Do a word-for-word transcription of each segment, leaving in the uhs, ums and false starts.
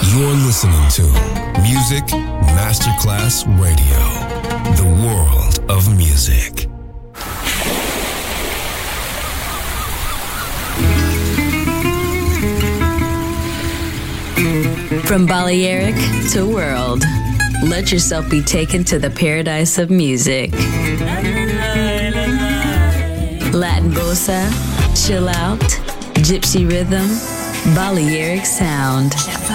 You're listening to Music Masterclass Radio, the world of music. From Balearic to world, let yourself be taken to the paradise of music. Latin bossa, chill out, gypsy rhythm, Balearic sound,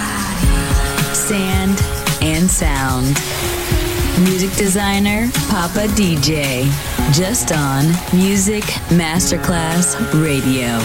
sand and sound. Music designer, Papa D J, just on Music Masterclass Radio.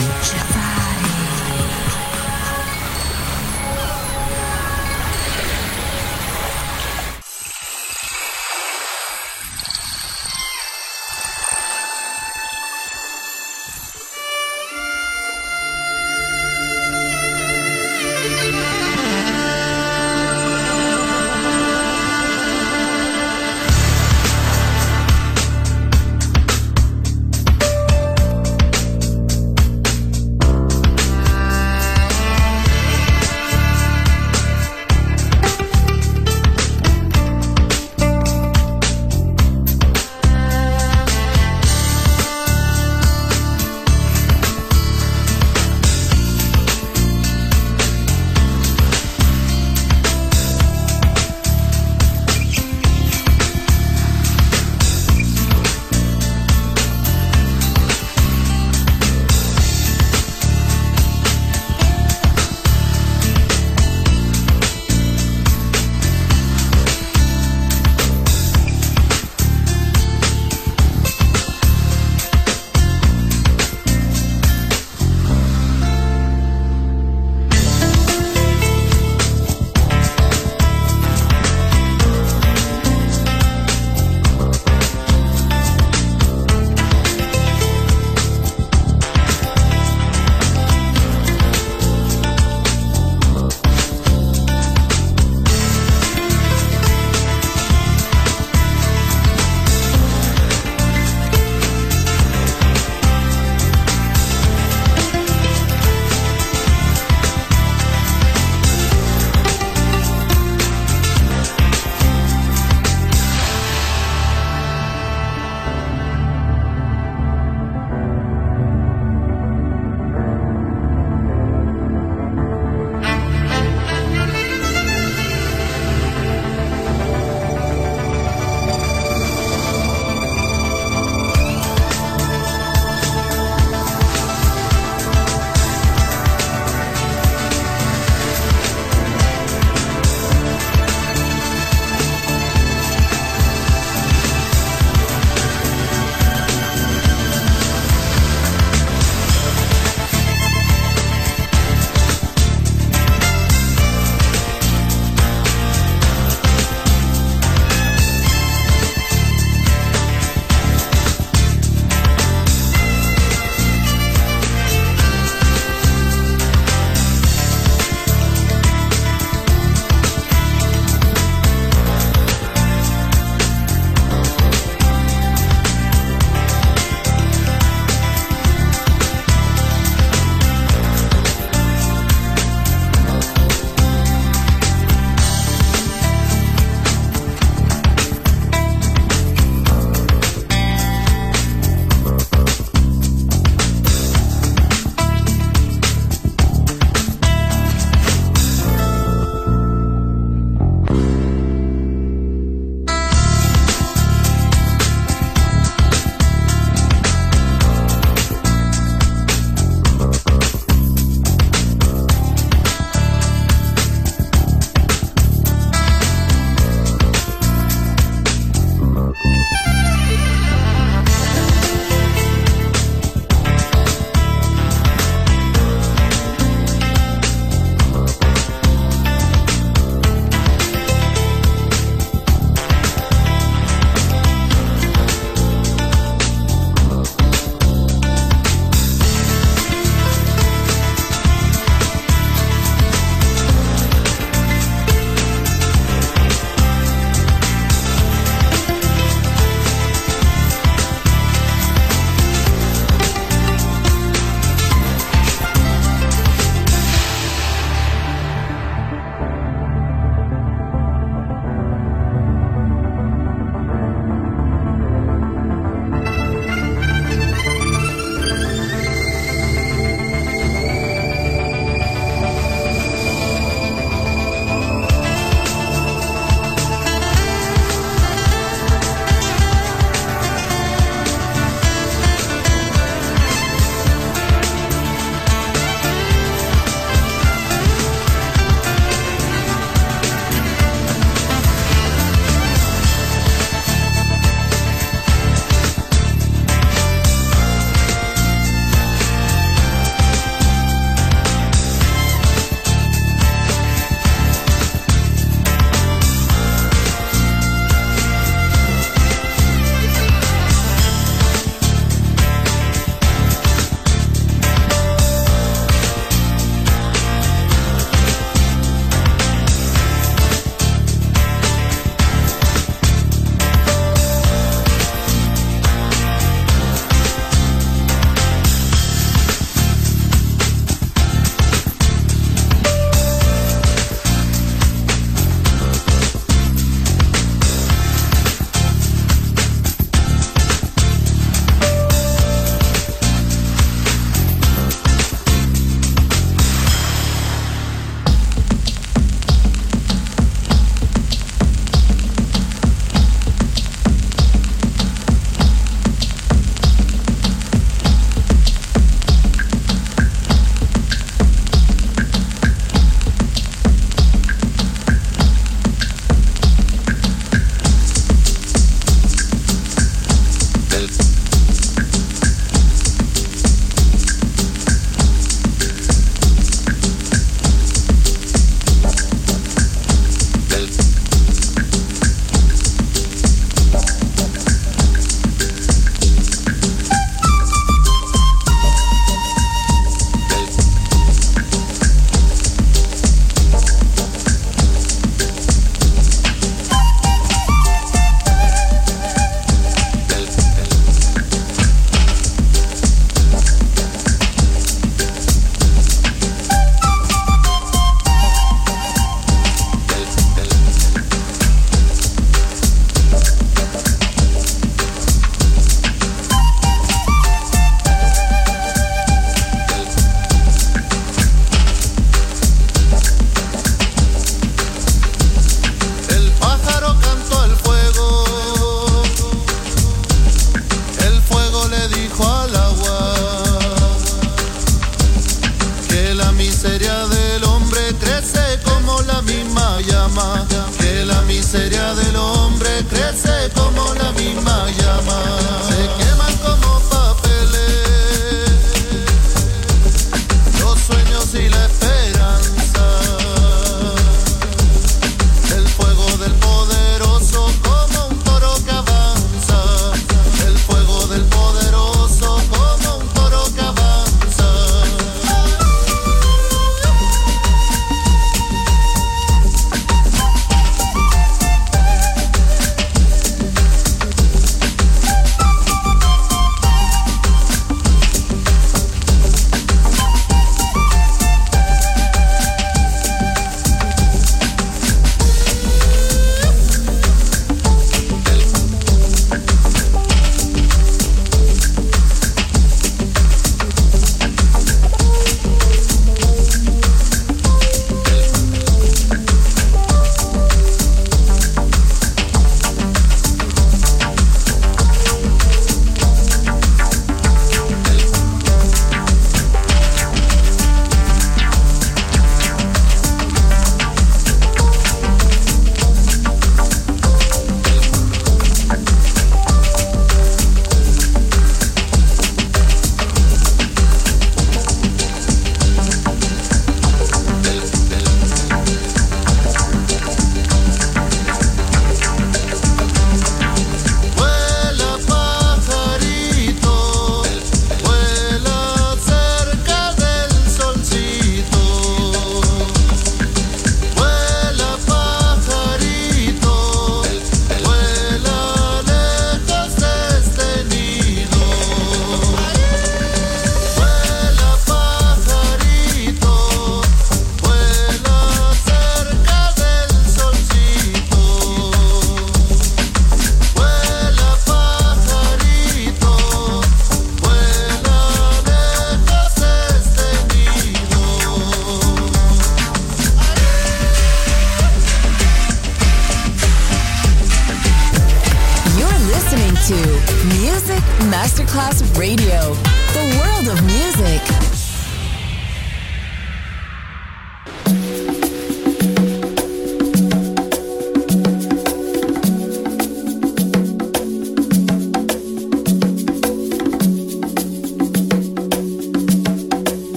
Masterclass Radio, the world of music.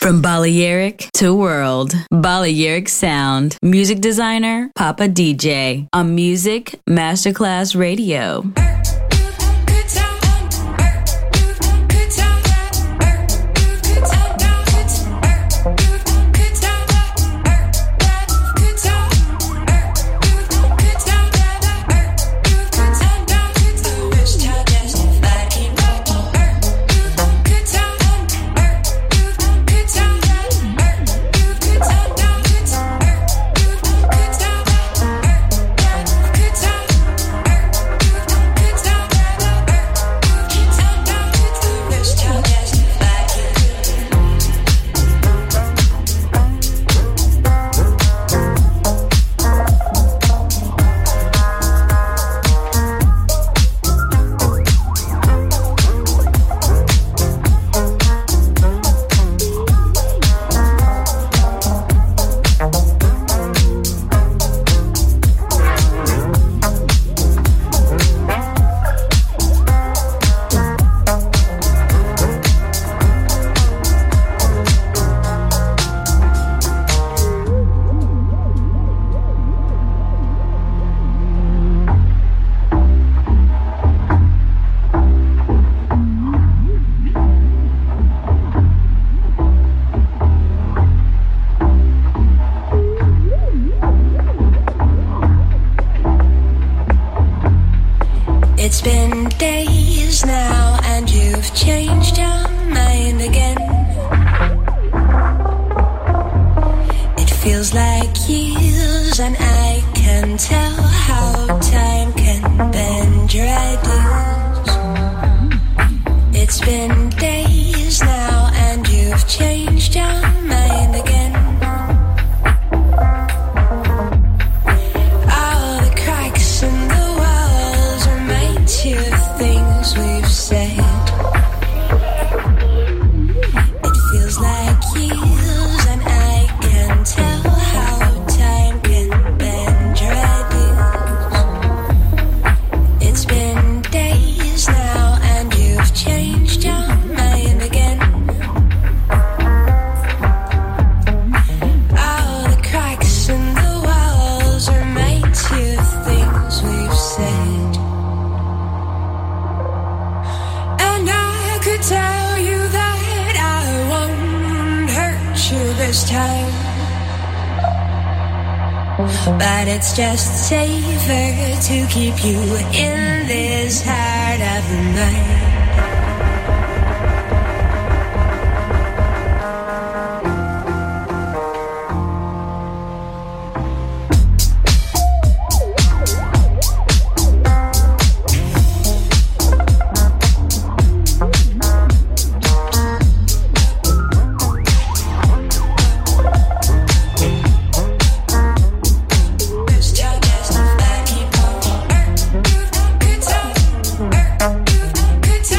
From Balearic to World, Balearic Sound. Music designer, Papa D J. On Music Masterclass Radio. But it's just safer to keep you in this heart of mine. Good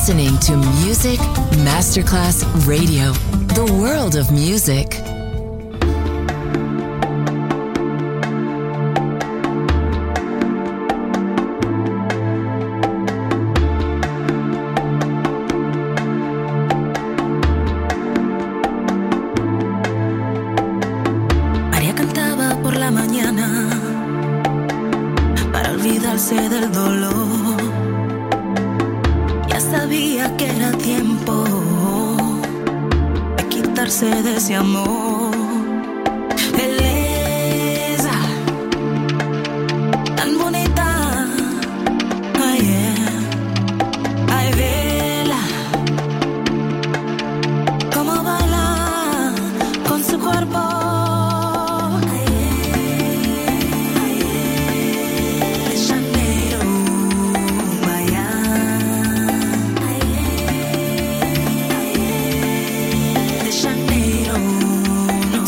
listening to Music Masterclass Radio, the world of music. María cantaba por la mañana para olvidarse del dolor. Ya sabía que era tiempo de quitarse de ese amor. Belleza tan bonita, ay, yeah. Ay, vela como baila con su cuerpo. No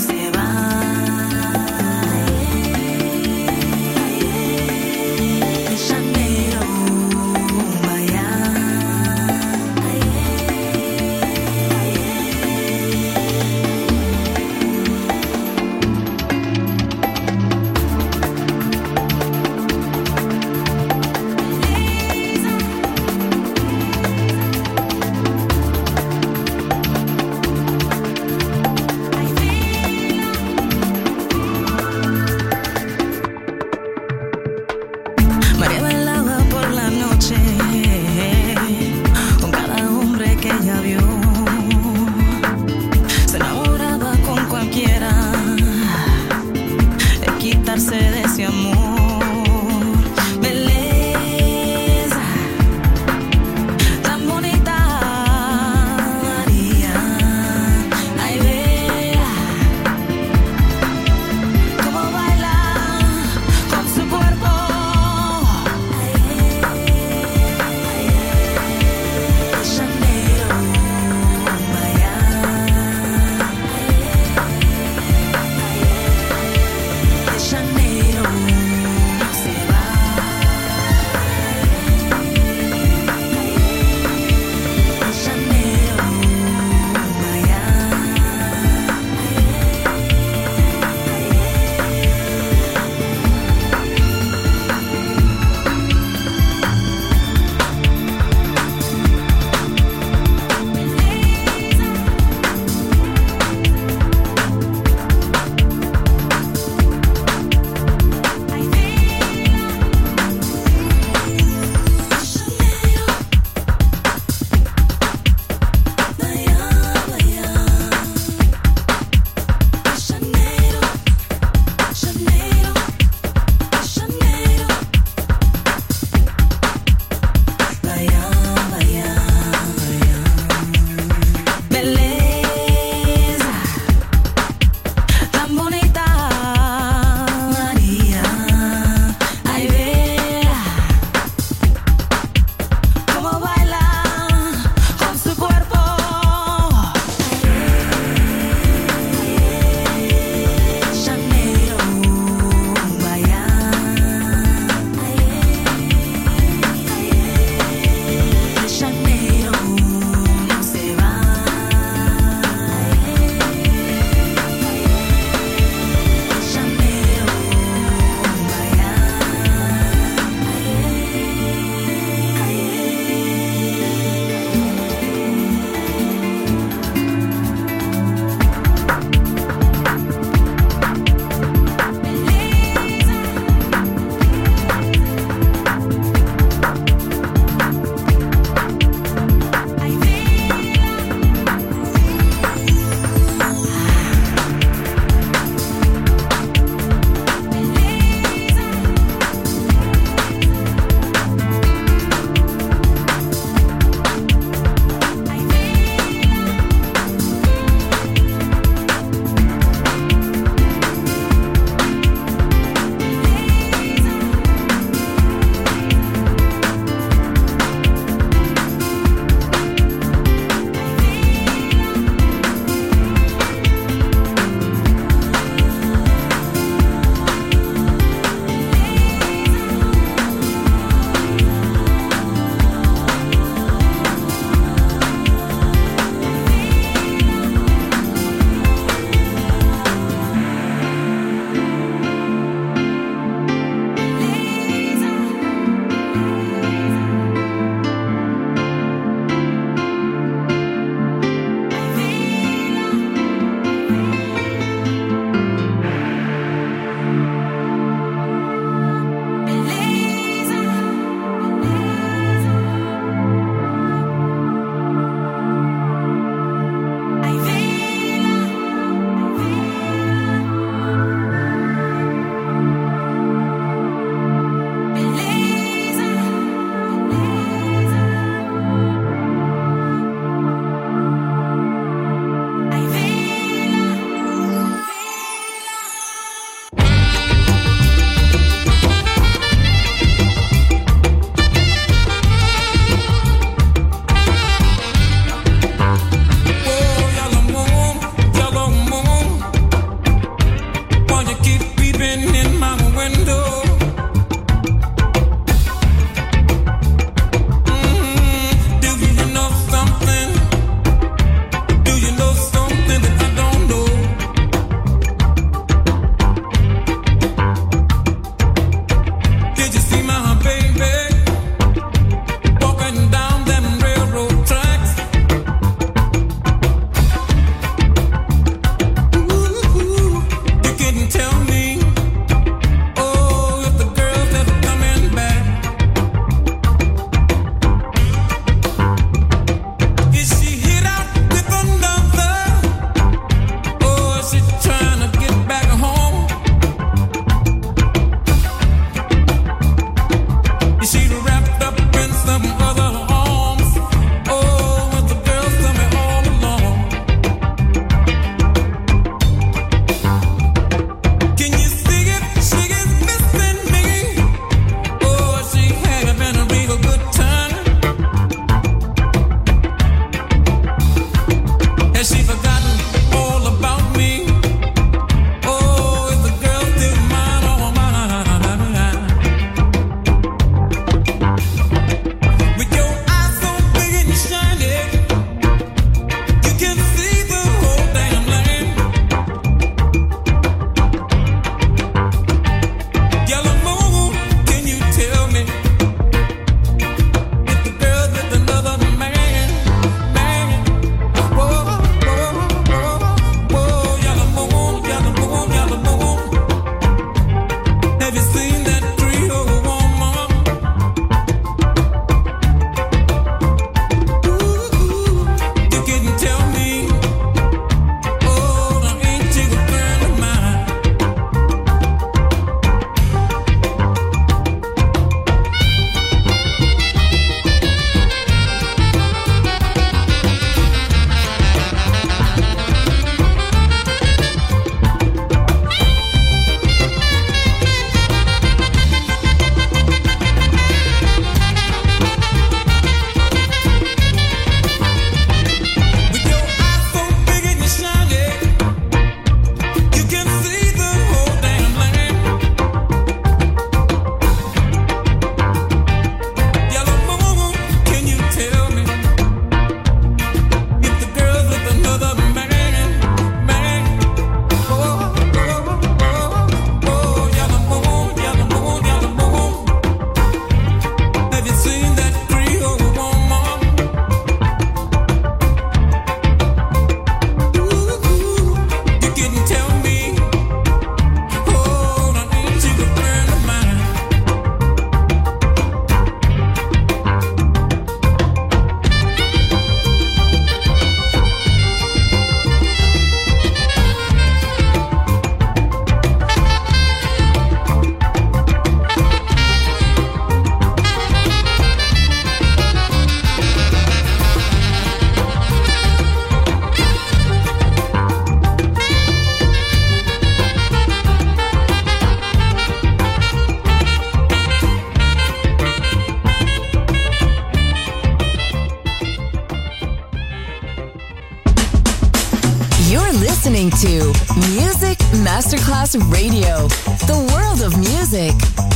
to Music Masterclass Radio, the world of music.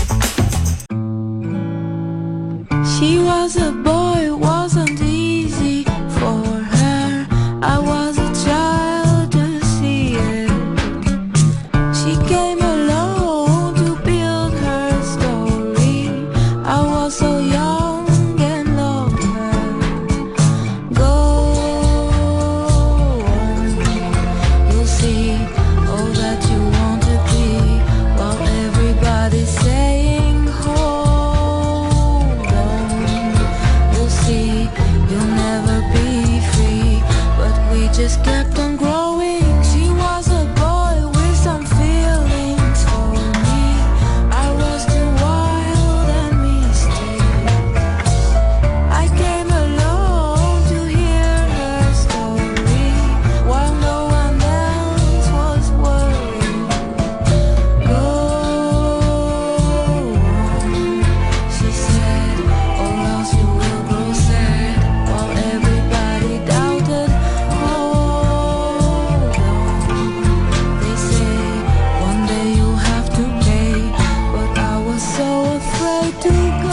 She was a boy, it wasn't easy for her. I was a child to see it. She came alone to build her story. I was so young and loved her. Go on, you'll see all that you want to be, while everybody's saying hold on. You'll see you'll never be free, but we just kept on growing. She was a boy with some feelings for me. I was too wild and misty. I came alone to hear her story, while no one else was worried. Go on, she said, or else you will grow sad, while everybody doubted. Hold on, they say one day you'll have to pay, but I was so afraid to go.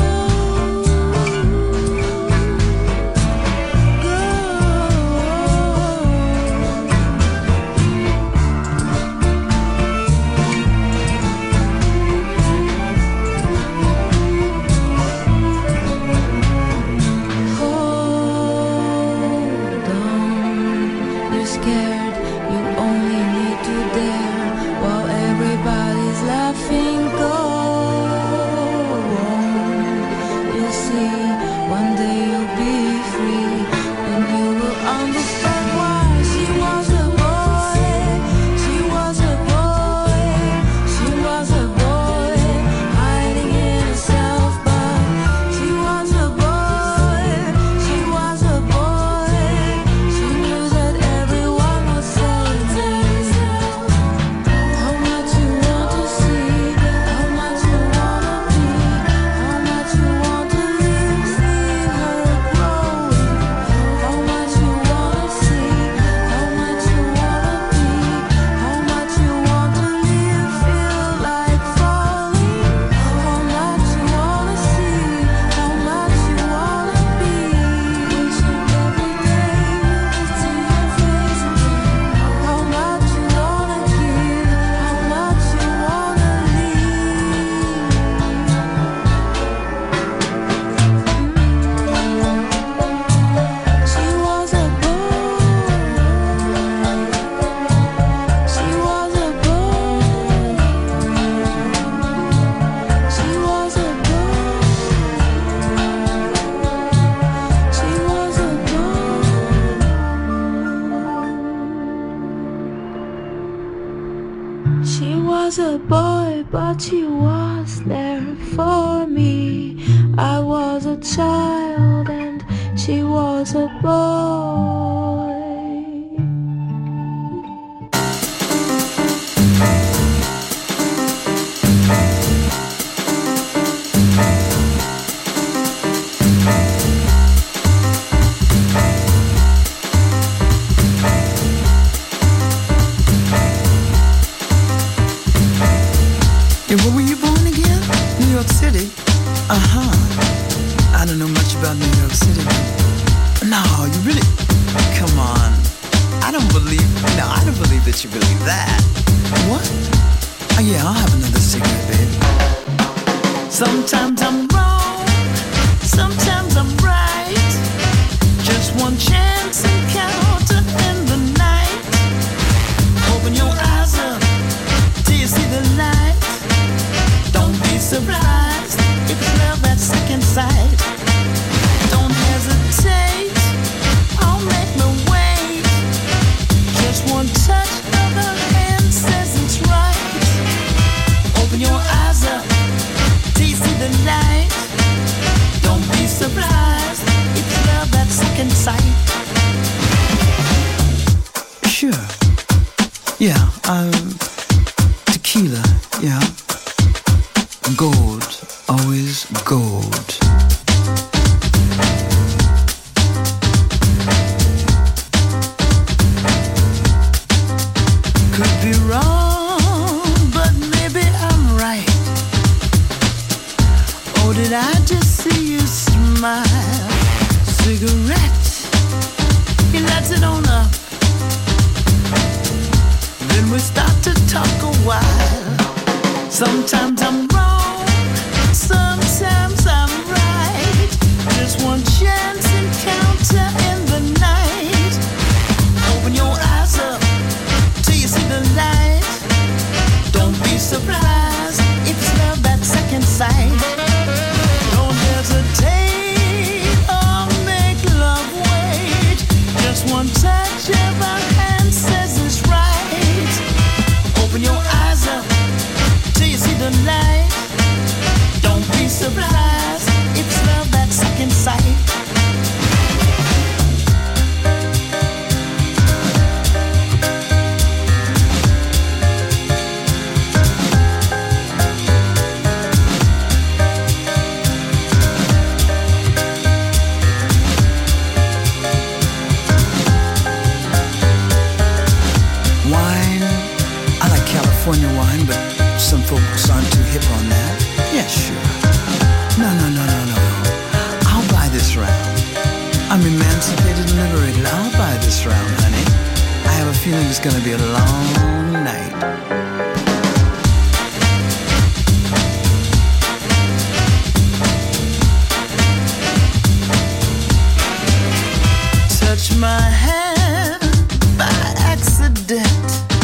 Hold on, you're scared, you only need to dare, while everybody's laughing. Go on, you'll see, one day you'll be free, and you will understand why. She was a boy, she was a boy, she was a boy, hiding in herself, but she was a boy, she was a boy, she knew that everyone was saying how much you want to see, how much you wanna be, how much you want to live, see her growing, how much you wanna see, how much you wanna be, how much you want to live, feel like falling, how much you wanna see, how much you wanna be, wishing every day it's in your face, how much you wanna give, how much you wanna leave. She was a boy, she was a boy, she was a boy, she was a boy. She was a boy, but she was there for me. I was a child and she was a boy. And where were you born again? New York City? Uh-huh. I don't know much about New York City. No, you really... Come on. I don't believe... No, I don't believe that you believe that. What? Oh, yeah, I'll have another cigarette, baby. Sometimes I'm wrong. Sometimes I'm right. Just one chance encounter in the night. Open your eyes up till you see the light. Don't be surprised if it's love at second sight. Don't hesitate, I'll make me wait. Just one touch of her hand says it's right. Open your eyes up till you see the light. Don't be surprised if it's love at second sight. Sure. Yeah, um, tequila, yeah. Gold, always gold. Sometimes I'm wrong, sometimes I'm right. Just one chance encounter in the night. Open your eyes up till you see the light. Don't be surprised if it's love at second sight. Don't hesitate or make love wait. Just one touch of our hand says it's right. Open your eyes up till you see the light. Don't be surprised, it's love at second sight. Wine, I like California wine, but some folks aren't too hip on that. Yeah, sure. No, no, no, no, no. I'll buy this round. I'm emancipated and liberated. I'll buy this round, honey. I have a feeling it's gonna be a long night. Touch my hand by accident,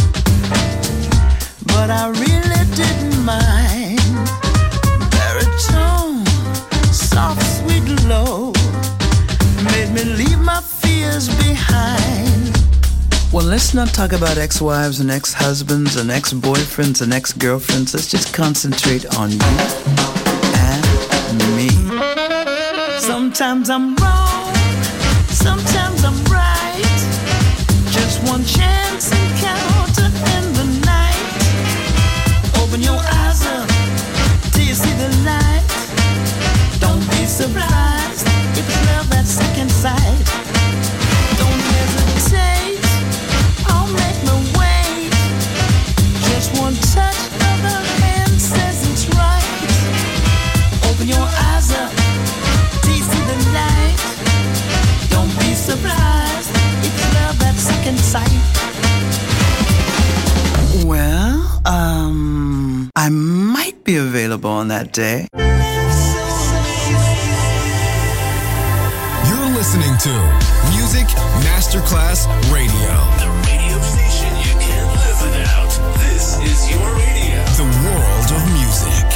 but I really didn't mind. Baritone, soft, sweet, low, made me leave my fears behind. Well, let's not talk about ex-wives and ex-husbands and ex-boyfriends and ex-girlfriends. Let's just concentrate on you and me. Sometimes I'm wrong, sometimes I'm right. Just one chance encounter in the night. Open your eyes up till you see the light. Don't be surprised if it's love at second sight. Don't hesitate, I'll make me wait. Just one touch of her hand says it's right. Open your eyes up till you see the light. Don't be surprised, it's love at second sight. Well, um, I might be available on that day. You're listening to Music Masterclass Radio. The radio station you can't live without. This is your radio. The world of music.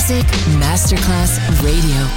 Music Masterclass Radio.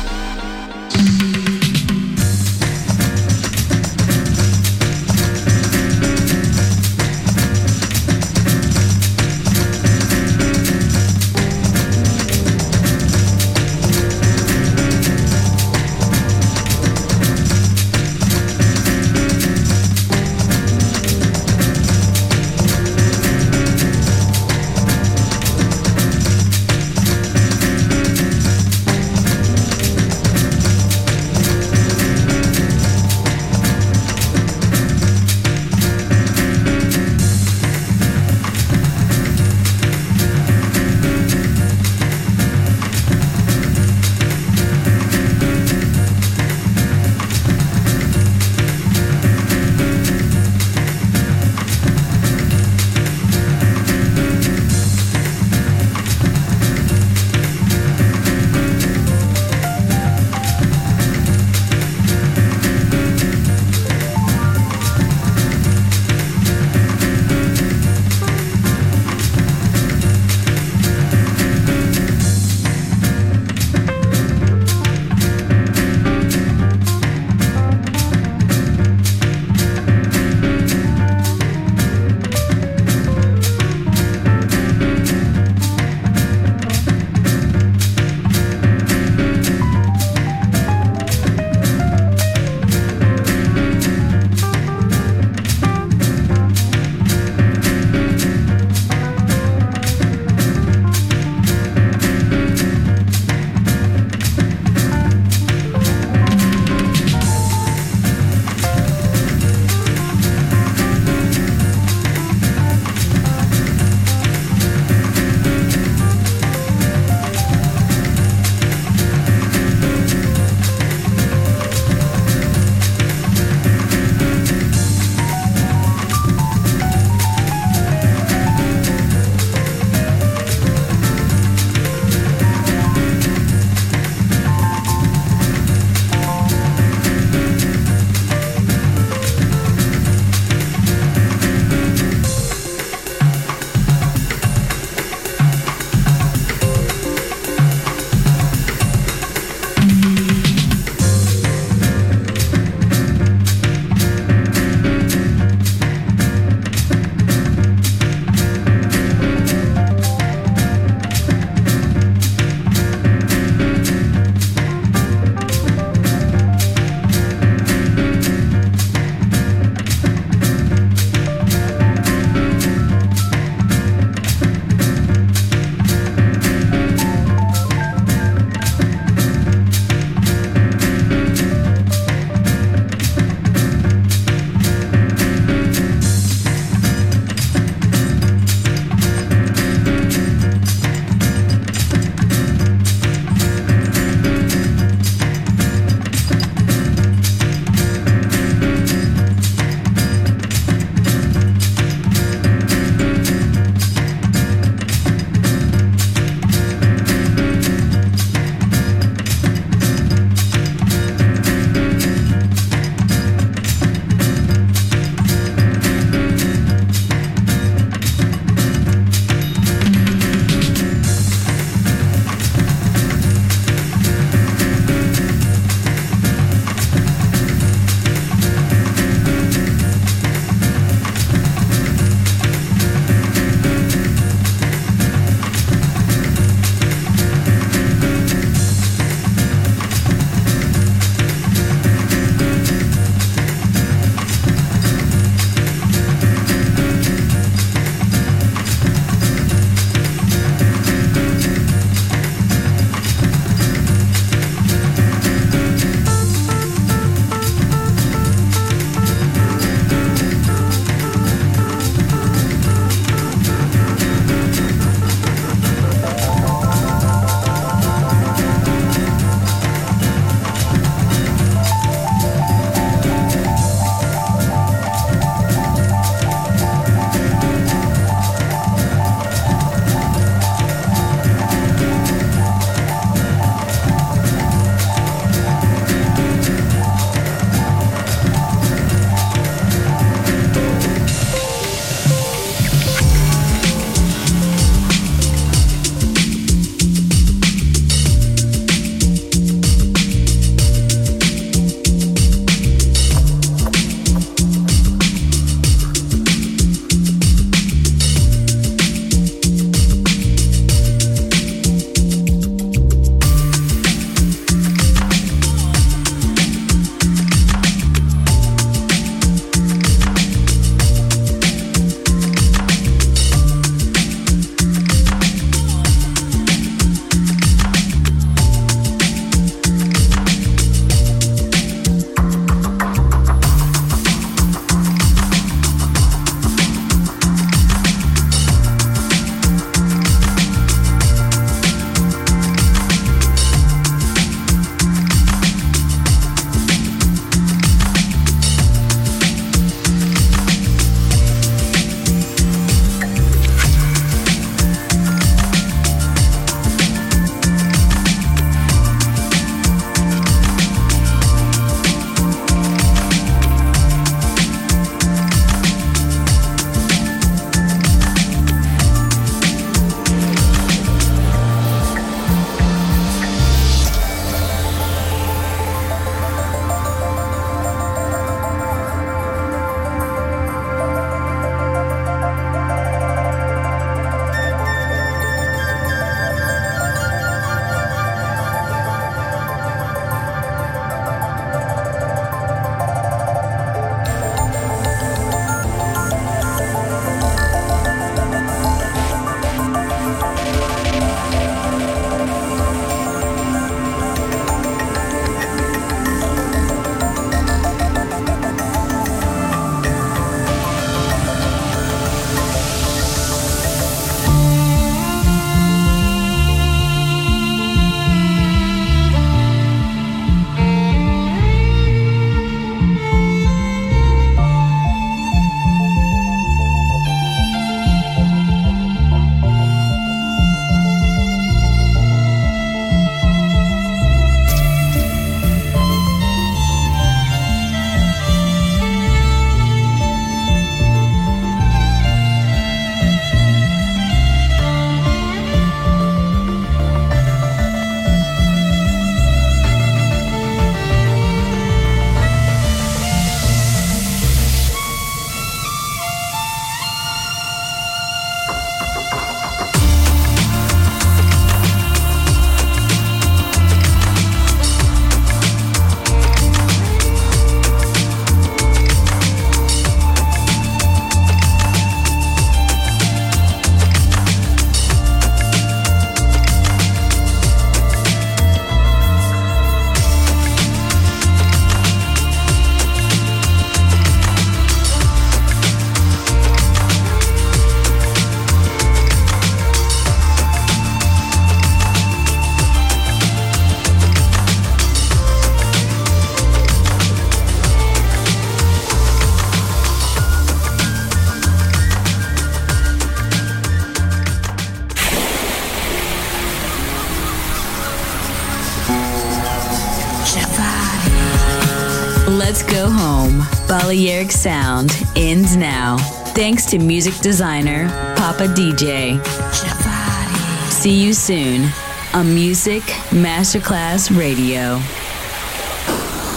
Let's go home. Balearic Sound ends now. Thanks to music designer Papa D J. See you soon on Music Masterclass Radio.